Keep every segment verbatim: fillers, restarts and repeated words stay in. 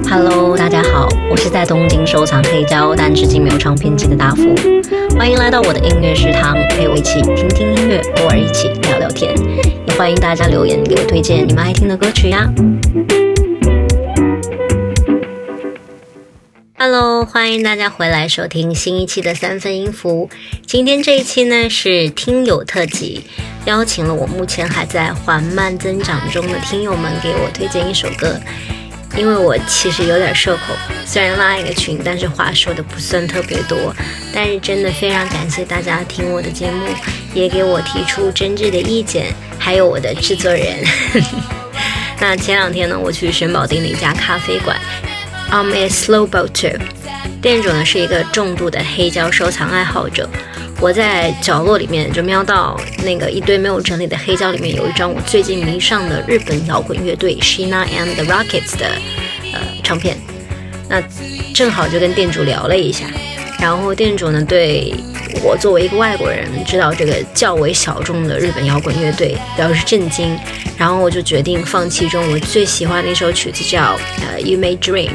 Hello， 大家好，我是在东京收藏黑胶，但至今没有唱片机的大福。欢迎来到我的音乐食堂，陪我一起听听音乐，偶尔一起聊聊天。也欢迎大家留言给我推荐你们爱听的歌曲呀。Hello， 欢迎大家回来收听新一期的三分音符。今天这一期呢是听友特辑，邀请了我目前还在缓慢增长中的听友们给我推荐一首歌。因为我其实有点社恐，虽然拉一个群，但是话说的不算特别多。但是真的非常感谢大家听我的节目，也给我提出真挚的意见，还有我的制作人。那前两天呢，我去神保町的一家咖啡馆 I'm a slow boater， 店主呢是一个重度的黑胶收藏爱好者。我在角落里面就瞄到那个一堆没有整理的黑胶里面有一张我最近迷上的日本摇滚乐队 Sheena and the Rockets 的呃唱片，那正好就跟店主聊了一下，然后店主呢对我作为一个外国人知道这个较为小众的日本摇滚乐队表示震惊，然後我就决定放其中我最喜欢的一首曲子叫呃 You May Dream。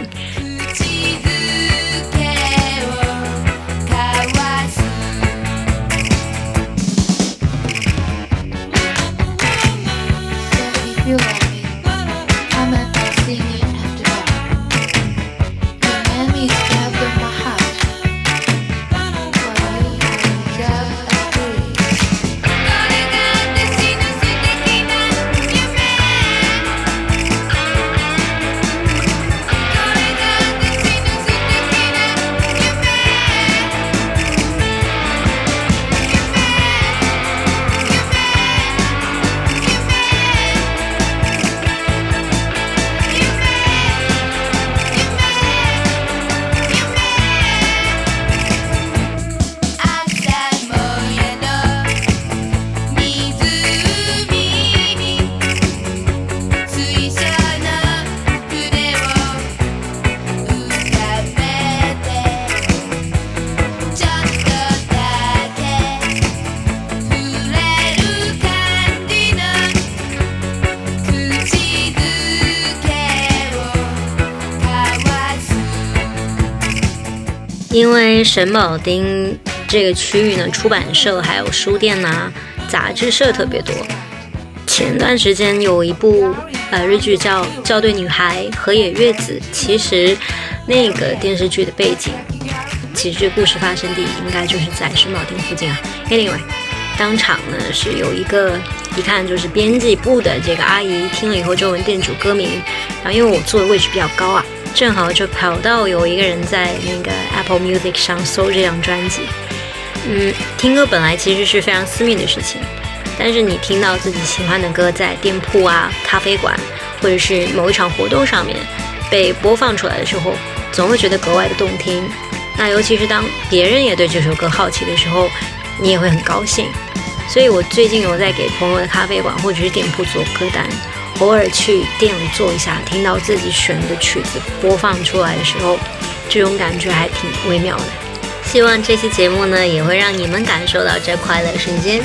因为神保町这个区域呢，出版社还有书店啊、杂志社特别多。前段时间有一部呃日剧叫《校对女孩河野月子》，其实那个电视剧的背景，其实故事发生地应该就是在神保町附近啊。Anyway， 当场呢是有一个一看就是编辑部的这个阿姨，听了以后就问店主歌名，然后因为我坐的位置比较高啊。正好就跑到有一个人在那个 Apple Music 上搜这张专辑。嗯，听歌本来其实是非常私密的事情，但是你听到自己喜欢的歌在店铺啊、咖啡馆或者是某一场活动上面被播放出来的时候，总会觉得格外的动听。那尤其是当别人也对这首歌好奇的时候，你也会很高兴。所以我最近有在给朋友的咖啡馆或者是店铺做歌单，偶尔去店里坐一下，听到自己选的曲子播放出来的时候，这种感觉还挺微妙的。希望这期节目呢，也会让你们感受到这快乐瞬间。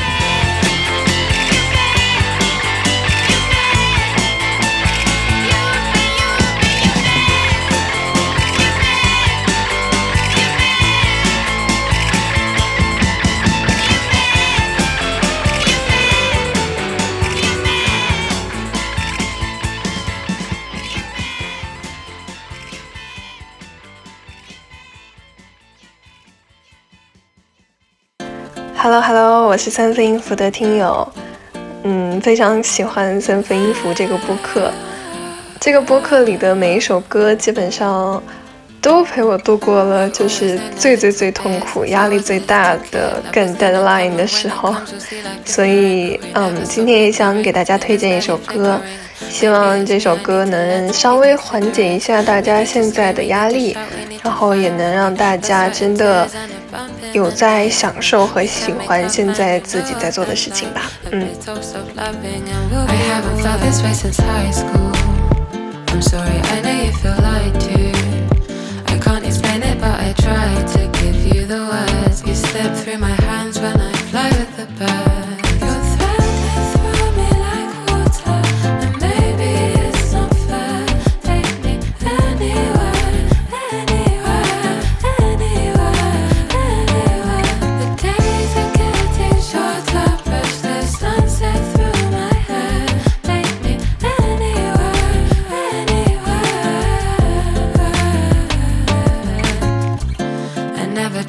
Hello Hello， 我是三分音符的听友，嗯，非常喜欢三分音符这个播客。这个播客里的每一首歌，基本上都陪我度过了就是最最最痛苦、压力最大的赶 deadline 的时候。所以，嗯，今天也想给大家推荐一首歌，希望这首歌能稍微缓解一下大家现在的压力，然后也能让大家真的有在享受和喜欢现在自己在做的事情吧。嗯。I'm sorry, I know you feel lied to. I can't explain it, but I try to give you the words. You slip through my hands when I fly with the birds. You're threading through me like water, and maybe it's not fair. Take me anywhere.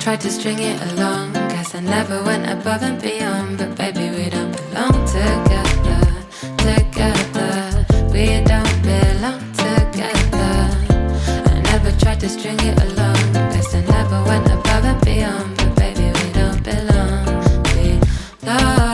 tried to string it along. Guess I never went above and beyond. But baby, we don't belong together, together. We don't belong together. I never tried to string it along. Guess I never went above and beyond. But baby, we don't belong, belong.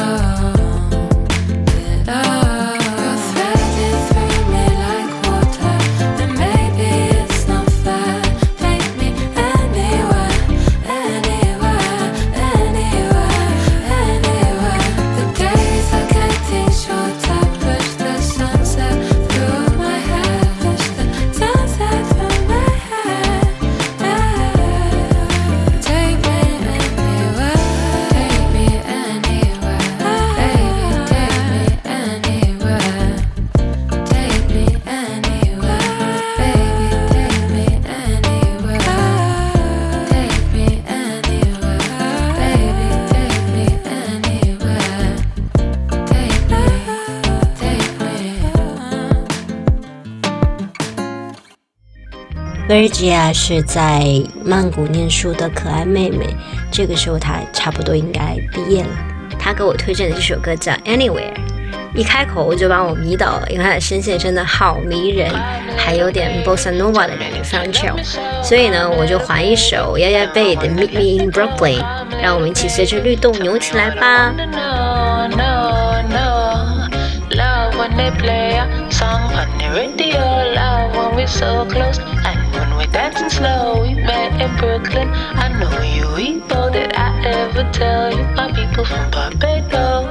Virgia 是在曼谷念书的可爱妹妹，这个时候她差不多应该毕业了。她给我推荐的这首歌叫 Anywhere， 一开口就把我迷倒了，因为她的声线真的好迷人，还有点 Bossa Nova 的感觉，非常 chill。所以呢，我就还一首 Yaya Bay 的 Meet Me in Brooklyn， 让我们一起随着律动扭起来吧。When they play a song on the radio, love when we're so close, and when we're dancing slow, we met in Brooklyn. I know you, we all that I ever tell you, my people from Barbados.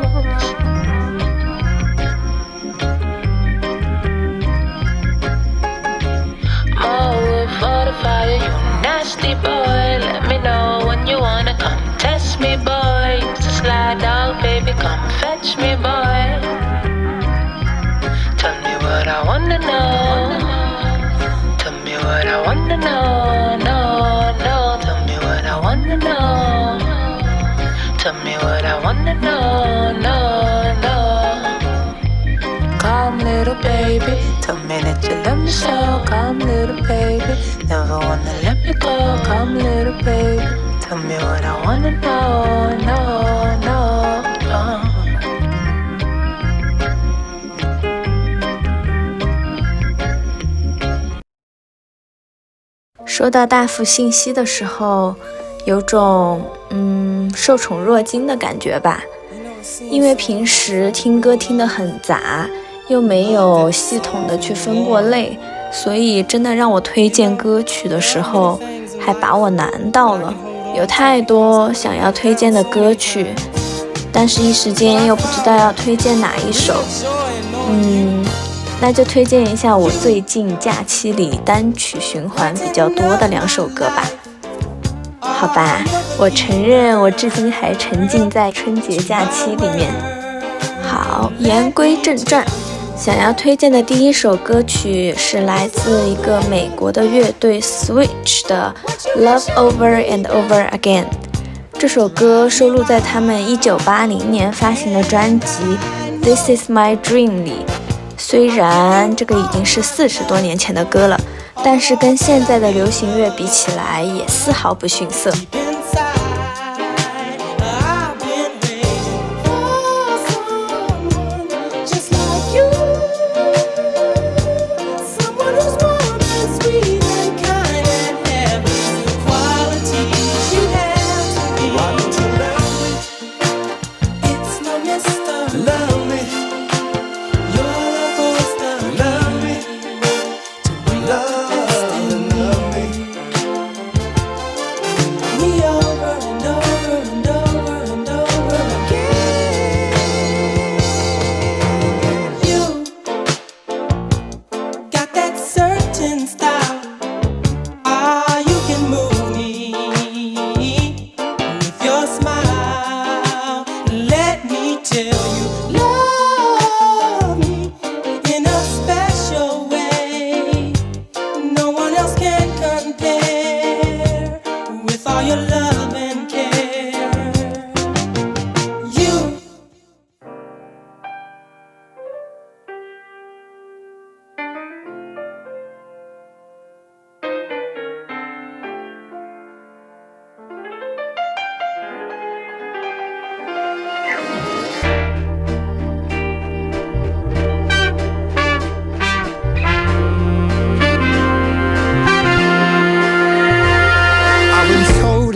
More wood for the fire, you nasty boy. Let me know when you wanna come test me, boy. Used to slide out, baby, come fetch me, boy.Tell me what I wanna know. Tell me what I wanna know. No, no. Tell me what I wanna know. Tell me what I wanna know. No, no. Come, little baby. Tell me that you love me so. Come, little baby. Never wanna let me go. Come, little baby. Tell me what I wanna know. No, no, no. 收到大幅信息的时候，有种嗯受宠若惊的感觉吧。因为平时听歌听得很杂，又没有系统的去分过类，所以真的让我推荐歌曲的时候，还把我难到了。有太多想要推荐的歌曲，但是一时间又不知道要推荐哪一首。嗯。那就推荐一下我最近假期里单曲循环比较多的两首歌吧。好吧，我承认我至今还沉浸在春节假期里面。好，言归正传，想要推荐的第一首歌曲是来自一个美国的乐队 Switch 的 Love Over and Over Again。这首歌收录在他们一九八零年发行的专辑 This Is My Dream 里。虽然这个已经是四十多年前的歌了，但是跟现在的流行乐比起来也丝毫不逊色。 We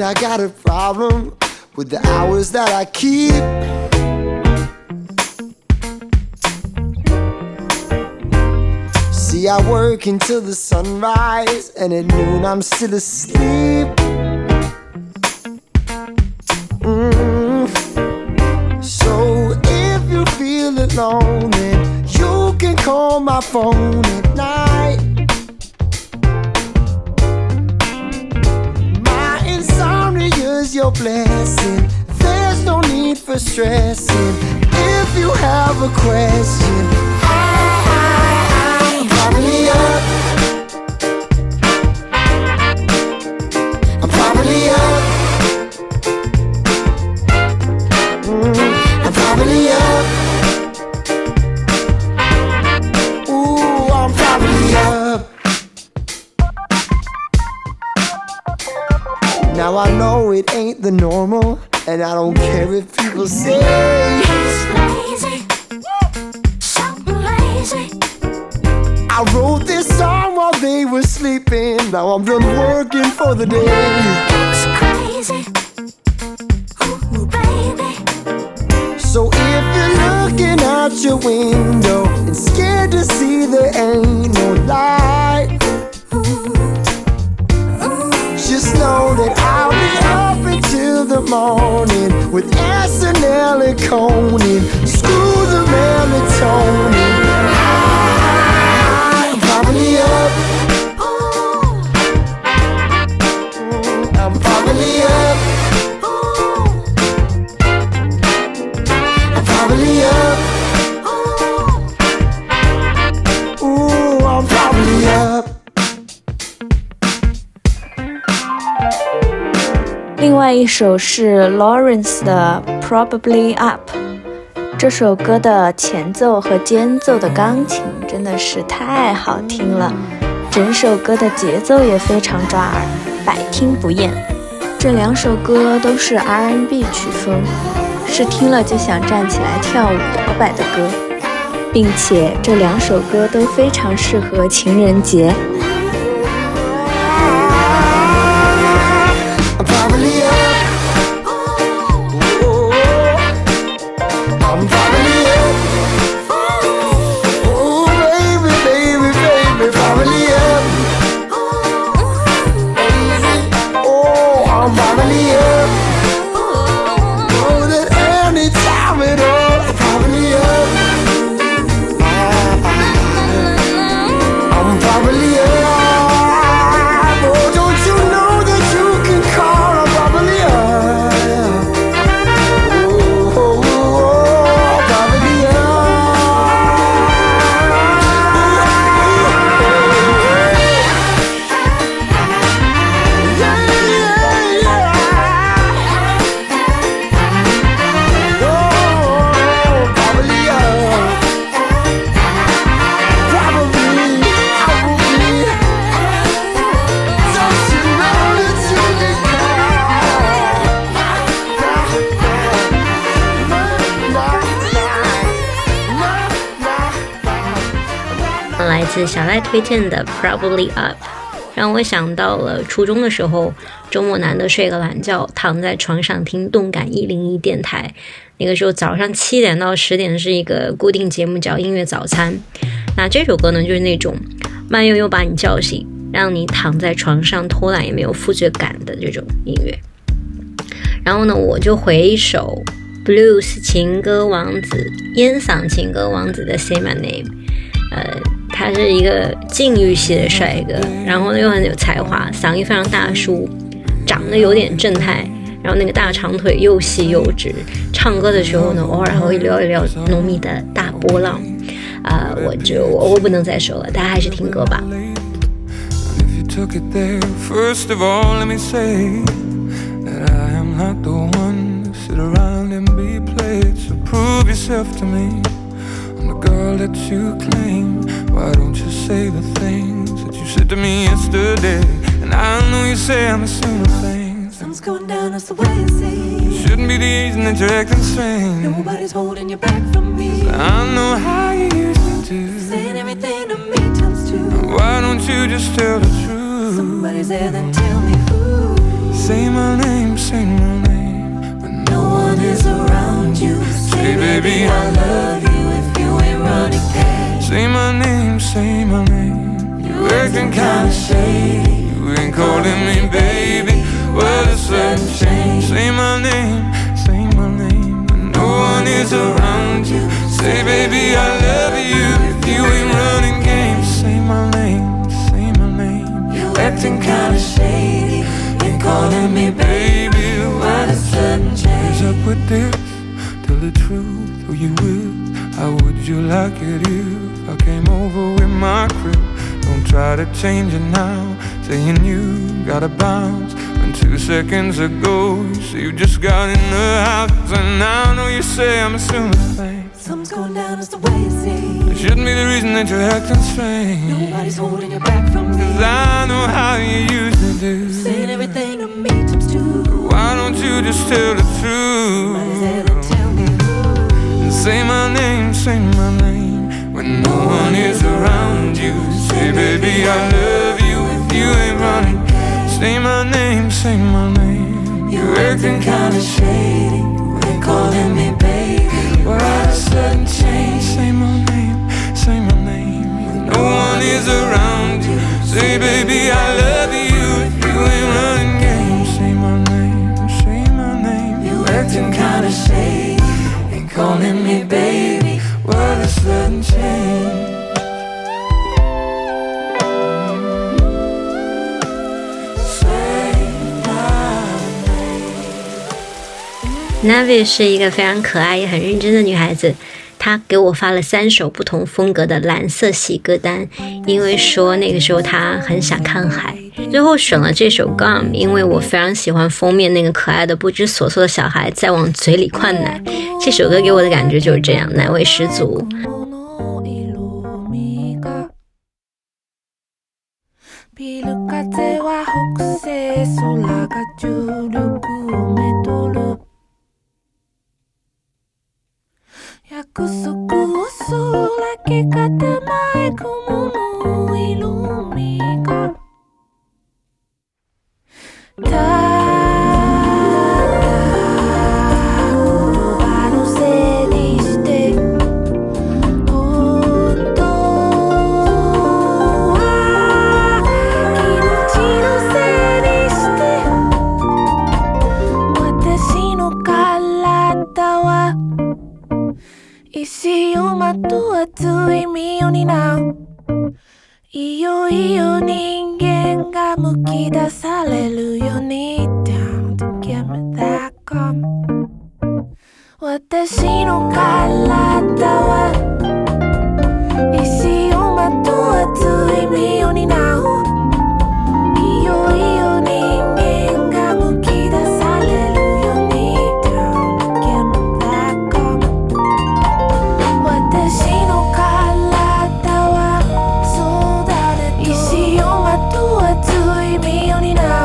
I got a problem with the hours that I keep. See, I work until the sunrise, and at noon I'm still asleep. Mm. So if you feel alone, then you can call my phone at night. My insomnia's your blessing. There's no need for stressing. If you have a question, I'm probably up. I'm probably up. Mm, I'm probably up. Ooh, I'm probably up. Now I know it ain't the normal, and I don't care if people say he's lazy, so lazy. I wrote this song while they were sleeping. Now I'm done working for the day. It's crazy, ooh, baby. So if you're looking out your window and scared to see there ain't no light, just know that I'll be up until the morning with S N L and Conan. Screw the melatonin. I'm probably up. Mm, I'm probably up. I'm probably up. Ooh, I'm probably up. 另外一首是 Lawrence 的 Probably Up， 这首歌的前奏和间奏的钢琴真的是太好听了，整首歌的节奏也非常抓耳，百听不厌。这两首歌都是 R and B 曲风，是听了就想站起来跳舞摇摆的歌，并且这两首歌都非常适合情人节。 来自小赖推荐的 Probably Up， 让我想到了初中的时候，周末难得睡个懒觉，躺在床上听动感一零一电台。那个时候早上七点到十点是一个固定节目叫音乐早餐，那这首歌呢就是那种慢悠悠把你叫醒，让你躺在床上偷懒也没有负罪感的这种音乐。然后呢我就回一首 Blues 情歌王子，烟嗓情歌王子的 Say My Name。 呃，他是一个禁欲系的帅哥，然后又很有才华，嗓音非常大叔，长得有点正太，然后那个大长腿又细又直，唱歌的时候呢偶尔还会撩一撩浓密的大波浪。啊、呃，我就我我不能再说了，大家还是听歌吧。 Took it there. First of all, let me say that I am not the one to sit around and be played. So prove yourself to me. I'm the girl that you claim. Why don't you say the things that you said to me yesterday? And I know you say I'm assuming things. Sun's going down, that's the way it seems. Shouldn't be the reason that you're acting strange. Nobody's holding you back from me. I know how you used me to. Saying everything to me times two. Why don't you just tell the truth? Somebody's there, then tell me who. Say my name, say my name when no one is around you. Say baby I love you if you ain't running game. Say my name, say my name. You acting kinda shady. You ain't calling me baby. Well, a sudden change. Say my name, say my name when no one is around you. Say baby I love you if you ain't running games. Say my name, say my name. You acting kinda shady. Ain't calling me baby. Why the sudden change? What's up with this? Tell the truth, who you with? How would you like it if I came over with my crib? Don't try to change it now. Saying you gotta bounce when two seconds ago you say you just got in the house. And now I know you say I'm assuming things. Something's going down, it's the way it seems. It shouldn't be the reason that you're acting strange. Nobody's holding you back from me. Cause I know how you used to do. Saying everything to me times two. Why don't you just tell the truth? Might as well tell me who. Say my name, say my name when no one is around you. Say baby I love you if you ain't running. Say my name, say my name. You acting kinda shady. You ain't calling me baby. Why the sudden change? Say my name, say my name when no one is around you. Say baby I love you if you ain't running games. Say my name, say my name. You acting kinda shady. Ain't calling me baby. Why the sudden change? Navi 是一个非常可爱也很认真的女孩子，她给我发了三首不同风格的蓝色系歌单，因为说那个时候她很想看海。最后选了这首 Gum， 因为我非常喜欢封面那个可爱的不知所措的小孩在往嘴里灌奶，这首歌给我的感觉就是这样，奶味十足。 ビル風は北西空が重力をめとる約束をすらけかたまい雲の色味がただ言葉のせいにして本当は気持ちのせいにして私の体は石をまと熱い身を担ういよいよ人間がむき出されるように Down to give me that gum 私の体は石をまと熱い身を担ういよいよ人間がむき出されるように Down to give me that gum 私の体はそうだね石をまと熱い身を担う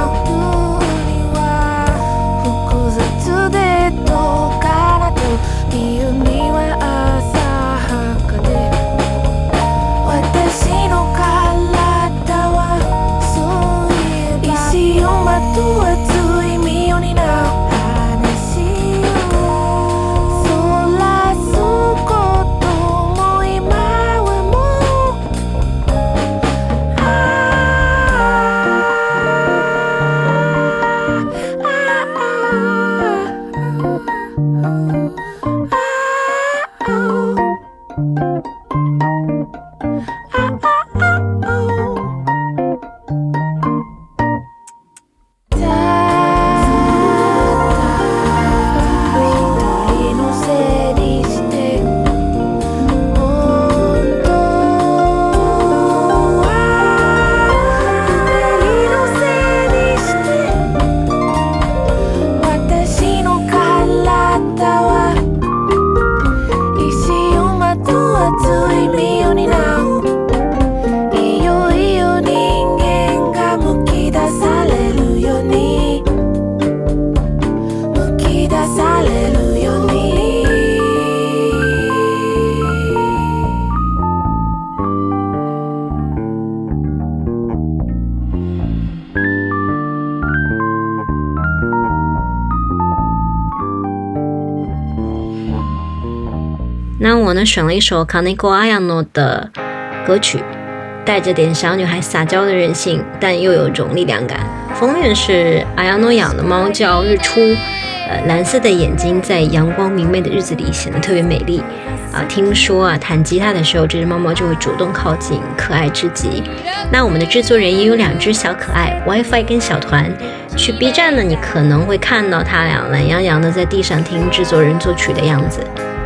那我呢选了一首 Kaneko Ayano 的歌曲，带着点小女孩撒娇的任性，但又有种力量感。封面是 Ayano 养的猫叫日出，呃，蓝色的眼睛在阳光明媚的日子里显得特别美丽啊。听说啊，弹吉他的时候，这只猫猫就会主动靠近，可爱至极。那我们的制作人也有两只小可爱 ，WiFi 跟小团。去 B 站呢，你可能会看到他俩懒洋洋的在地上听制作人作曲的样子。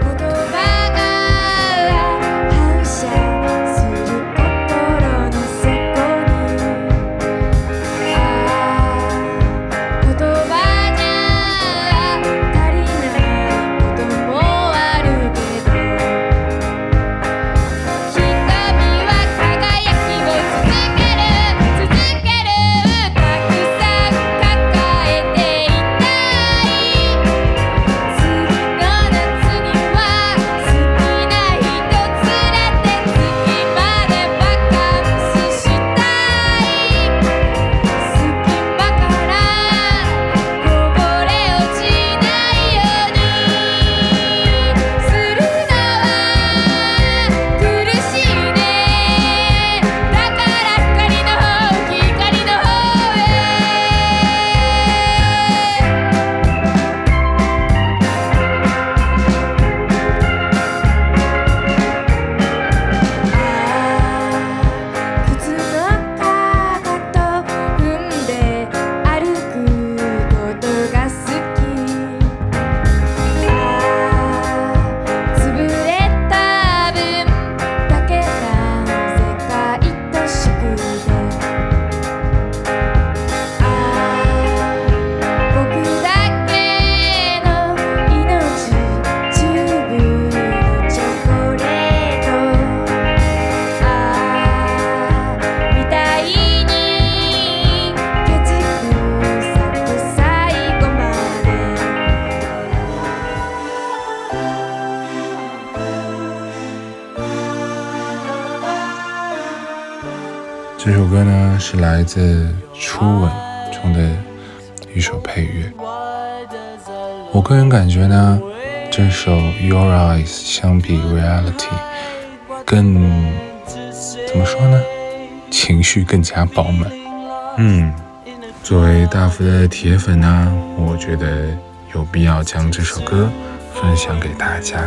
这首歌呢是来自《初吻》中的一首配乐。我个人感觉呢，这首《Your Eyes》相比《Reality》更怎么说呢？情绪更加饱满。嗯，作为大福的铁粉呢，我觉得有必要将这首歌分享给大家。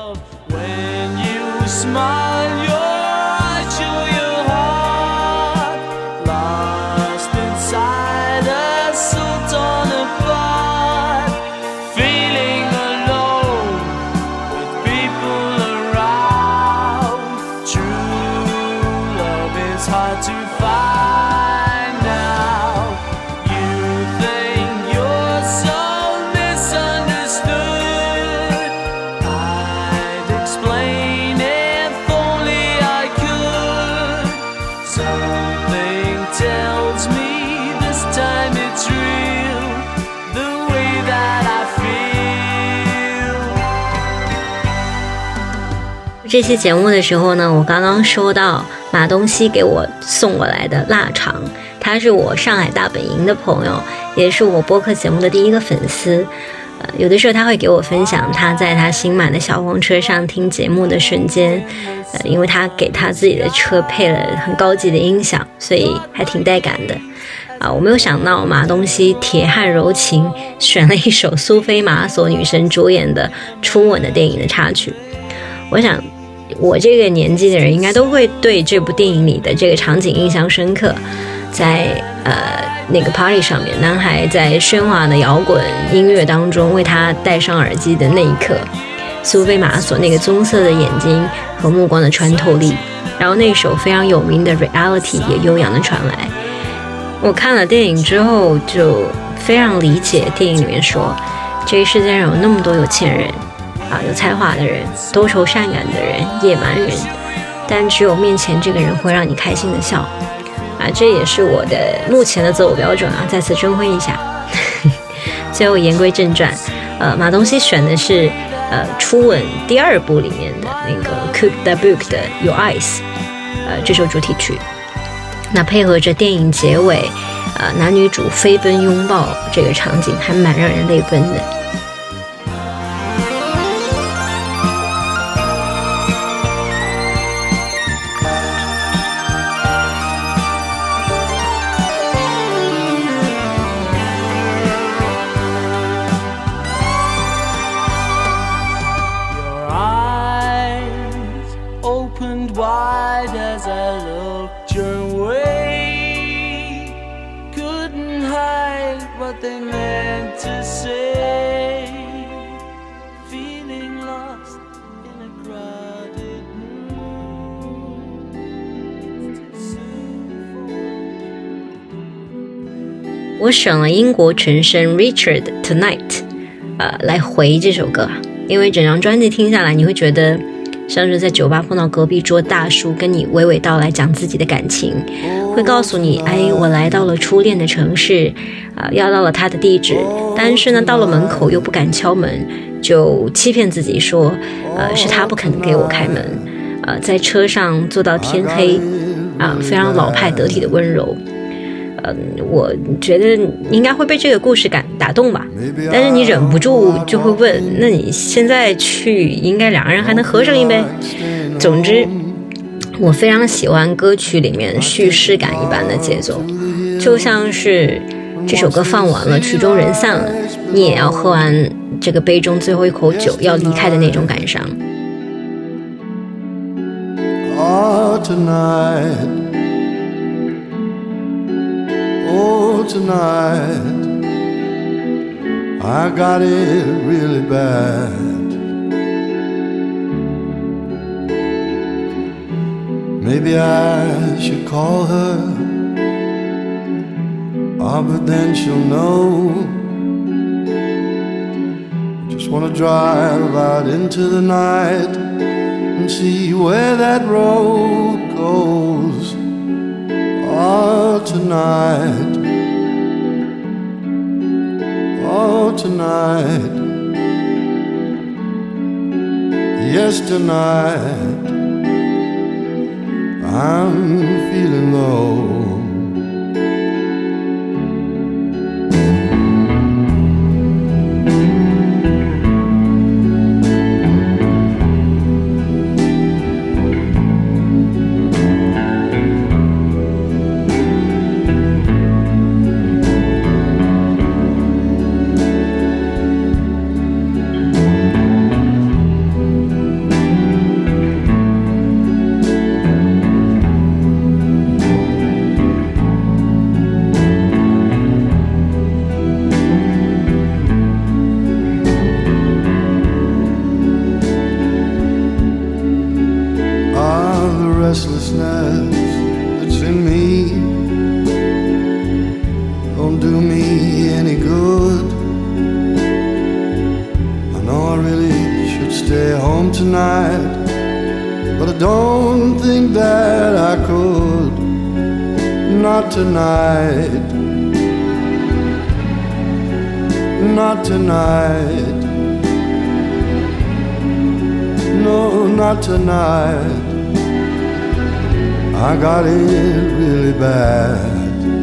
这期节目的时候呢，我刚刚收到马东锡给我送过来的腊肠，他是我上海大本营的朋友，也是我播客节目的第一个粉丝。呃，有的时候他会给我分享他在他新买的小黄车上听节目的瞬间，呃，因为他给他自己的车配了很高级的音响，所以还挺带感的。啊，我没有想到马东锡铁汉柔情选了一首苏菲玛索女神主演的《初吻》的电影的插曲。我想我这个年纪的人应该都会对这部电影里的这个场景印象深刻。在呃那个 party 上面，男孩在喧哗的摇滚音乐当中为他戴上耳机的那一刻，苏菲玛索那个棕色的眼睛和目光的穿透力，然后那首非常有名的 Reality 也悠扬的传来。我看了电影之后就非常理解电影里面说，这个世界上有那么多有钱人啊，有才华的人，多愁善感的人，野蛮人，但只有面前这个人会让你开心的笑啊，这也是我的目前的择偶标准啊，再次征婚一下。最后言归正传，呃，马东锡选的是呃《初吻》第二部里面的那个 Cook the Book 的 Your Eyes， 呃这首主题曲，那配合着电影结尾，呃男女主飞奔拥抱这个场景，还蛮让人泪奔的。 what they meant to say. Feeling lost in a crowded room. It's too soon for 我选了英国陈升 Richard Tonight 呃，来回这首歌，因为整张专辑听下来你会觉得像是在酒吧碰到隔壁桌大叔跟你娓娓道来讲自己的感情，会告诉你哎，我来到了初恋的城市、呃、要到了他的地址，但是呢到了门口又不敢敲门，就欺骗自己说呃，是他不肯给我开门、呃、在车上坐到天黑、呃、非常老派得体的温柔。嗯，我觉得应该会被这个故事感打动吧，但是你忍不住就会问，那你现在去应该两个人还能合上一杯。总之我非常喜欢歌曲里面叙事感一般的节奏，就像是这首歌放完了，曲终人散了，你也要喝完这个杯中最后一口酒要离开的那种感伤。 Oh, tonight, oh, tonight, I got it really bad. Maybe I should call her, oh, but then she'll know. Just wanna drive out into the night and see where that road goes. Oh, tonight, oh, tonight, yes, tonight, I'm feeling low. Restlessness that's in me don't do me any good. I know I really should stay home tonight, but I don't think that I could. Not tonight, not tonight, no, not tonight. I got it really bad.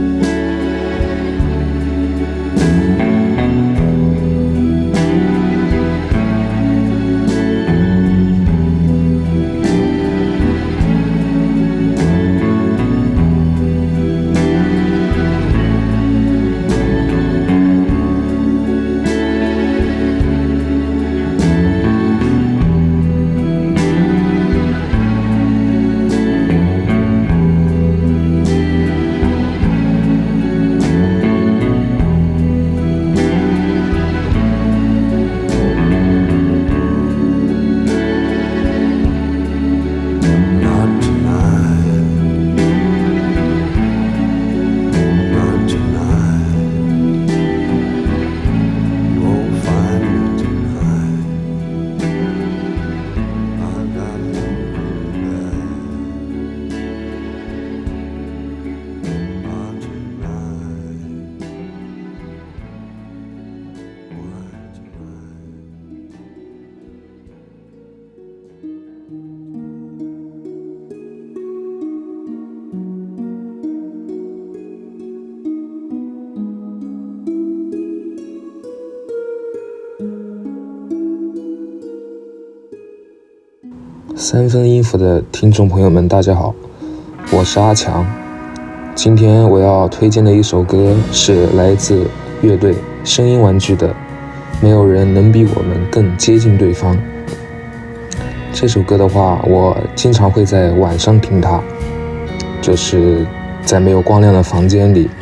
三分音符的听众朋友们大家好，我是阿强。今天我要推荐的一首歌是来自乐队声音玩具的《没有人能比我们更接近对方》。这首歌的话，我经常会在晚上听它，就是在没有光亮的房间里，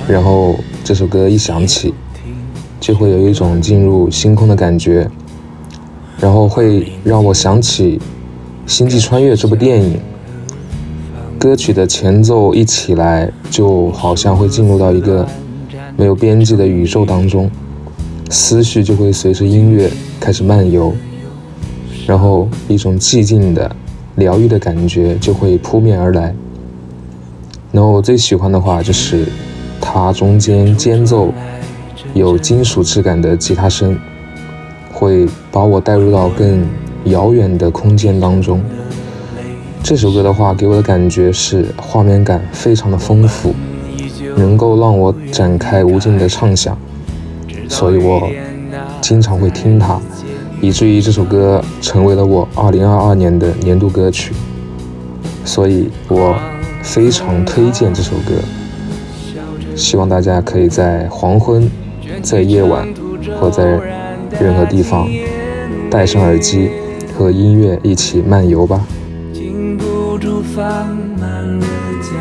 然后这首歌一响起，就会有一种进入星空的感觉，然后会让我想起《星际穿越》这部电影。歌曲的前奏一起来，就好像会进入到一个没有边际的宇宙当中，思绪就会随着音乐开始漫游，然后一种寂静的疗愈的感觉就会扑面而来。然后我最喜欢的话就是它中间间奏有金属质感的吉他声，会把我带入到更遥远的空间当中。这首歌的话给我的感觉是画面感非常的丰富，能够让我展开无尽的畅想，所以我经常会听它，以至于这首歌成为了我二零二二年的年度歌曲，所以我非常推荐这首歌。希望大家可以在黄昏、在夜晚或在任何地方戴上耳机，和音乐一起漫游吧。 禁不住放慢了脚，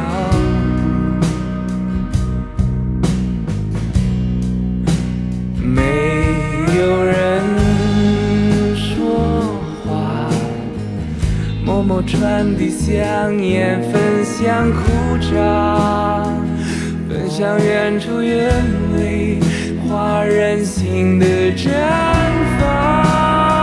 没有人说话，默默传递香烟，分享苦茶，分享远处远未化人心的绽放。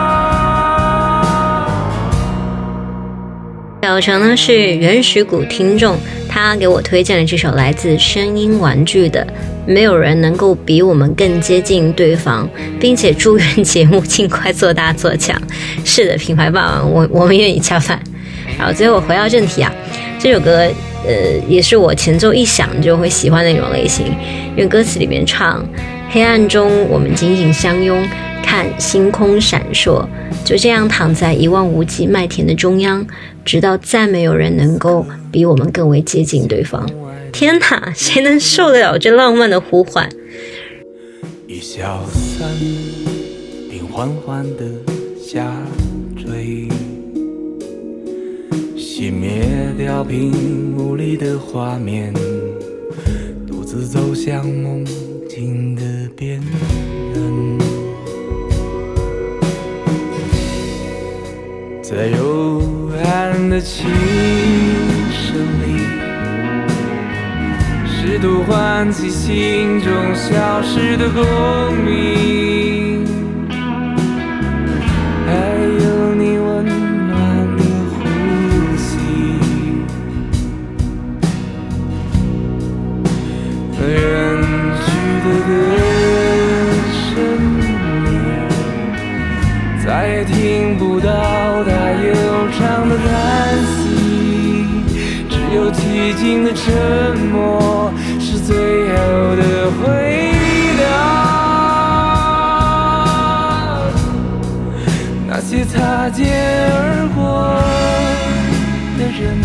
小程呢是原始谷听众，他给我推荐了这首来自声音玩具的没有人能够比我们更接近对方，并且祝愿节目尽快做大做强。是的，品牌霸王，我我们愿意恰饭。然后最后回到正题啊，这首歌呃也是我前奏一响就会喜欢的那种类型，因为歌词里面唱黑暗中我们紧紧相拥，看星空闪烁，就这样躺在一望无际麦田的中央，直到再没有人能够比我们更为接近对方。天哪，谁能受得了这浪漫的呼唤？ 一小伞并缓缓地下坠，熄灭掉屏幕里的画面，独自走向梦境的边缘，在幽暗的琴声里，试图唤起心中消失的共鸣，还有你温暖的呼吸，远去的歌声里，再也听不到它悠长的叹息，只有寂静的沉默是最后的回答。那些擦肩而过的人，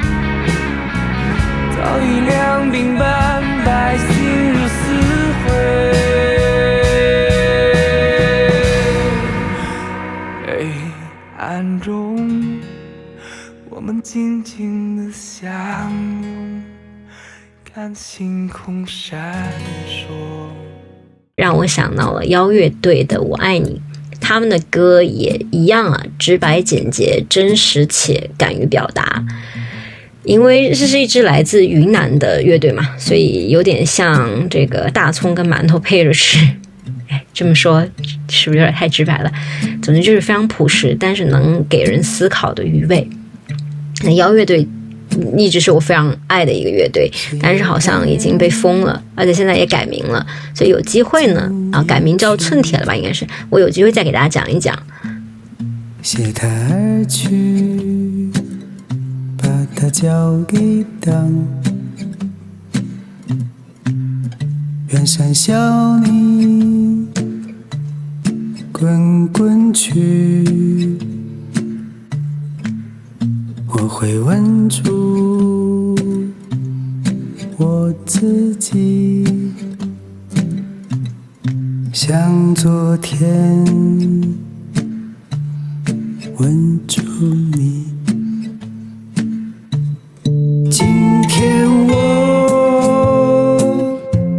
早已两鬓斑白，心如死灰。黑暗中我们静静地相拥，看星空闪烁。 让我想到了妖乐队的《我爱你》，他们的歌也一样啊，直白简洁，真实且敢于表达。因为这是一支来自云南的乐队嘛，所以有点像这个大葱跟馒头配着吃。哎，这么说是不是有点太直白了？总之就是非常朴实，但是能给人思考的余味。那妖乐队一直是我非常爱的一个乐队，但是好像已经被封了，而且现在也改名了，所以有机会呢，啊，改名叫寸铁了吧，应该是，我有机会再给大家讲一讲。 携他而去，把它交给当，远山小你滚滚去，我会稳住我自己，像昨天稳住你。今天我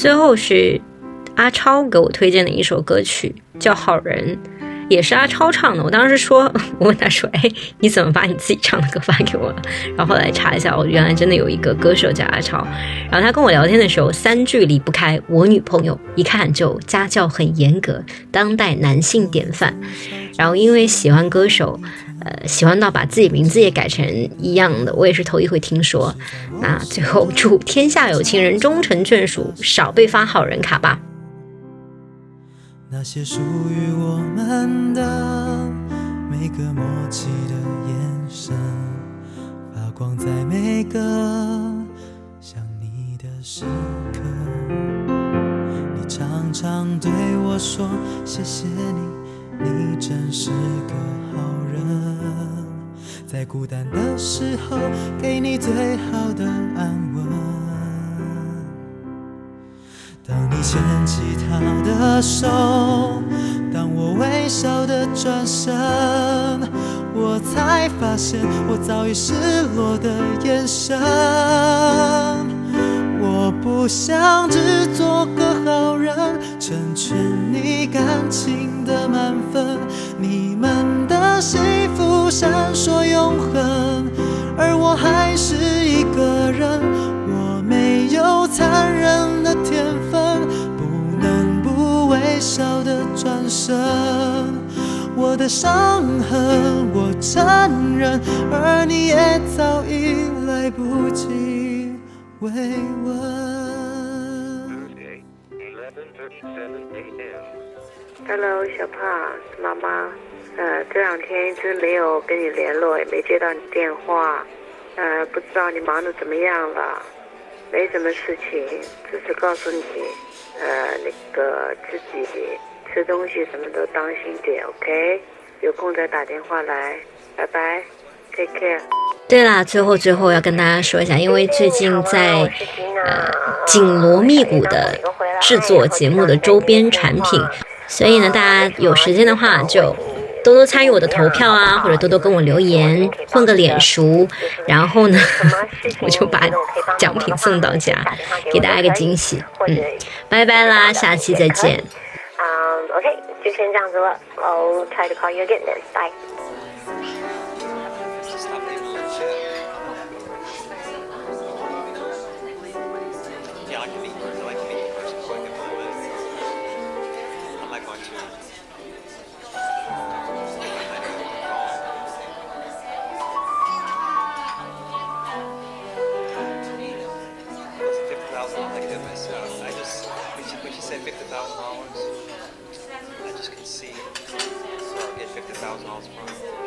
最后是阿超给我推荐的一首歌曲，叫《好人》，也是阿超唱的。我当时说，我问他说：“哎，你怎么把你自己唱的歌发给我了？”然后后来查一下，我原来真的有一个歌手叫阿超。然后他跟我聊天的时候，三句离不开我女朋友，一看就家教很严格，当代男性典范。然后因为喜欢歌手，呃，喜欢到把自己名字也改成一样的，我也是头一回听说。那最后祝天下有情人终成眷属，少被发好人卡吧。 那些属于我们的每个默契的眼神，发光在每个想你的时刻。你常常对我说谢谢你，你真是个好人，在孤单的时候给你最好的安稳。当你牵起他的手，当我微笑的转身，我才发现我早已失落的眼神。我不想只做个好人，成全你感情的满分，你们的幸福闪烁永恒，而我还是一个人，我没有残忍的天分，不能不微笑的转身。我的伤痕我承认，而你也早已来不及慰问。 Hello， 小胖，是妈妈。呃，这两天一直没有跟你联络，也没接到你电话。呃，不知道你忙得怎么样了？没什么事情，只是告诉你，呃，那个自己吃东西什么都当心点 ，OK？ 有空再打电话来，拜拜 ，Take care。 对啦，最后最后要跟大家说一下，因为最近在呃紧锣密鼓的制作节目的周边产品，所以呢，大家有时间的话就多多参与我的投票啊，或者多多跟我留言，混个脸熟，然后呢，我就把奖品送到家，给大家一个惊喜。嗯，拜拜啦，下期再见。 嗯 ，OK， 就先这样子了。I'll try to call you again then. Bye. I just, when she, when she said fifty thousand dollars, I just could see, so I'll get fifty thousand dollars from her.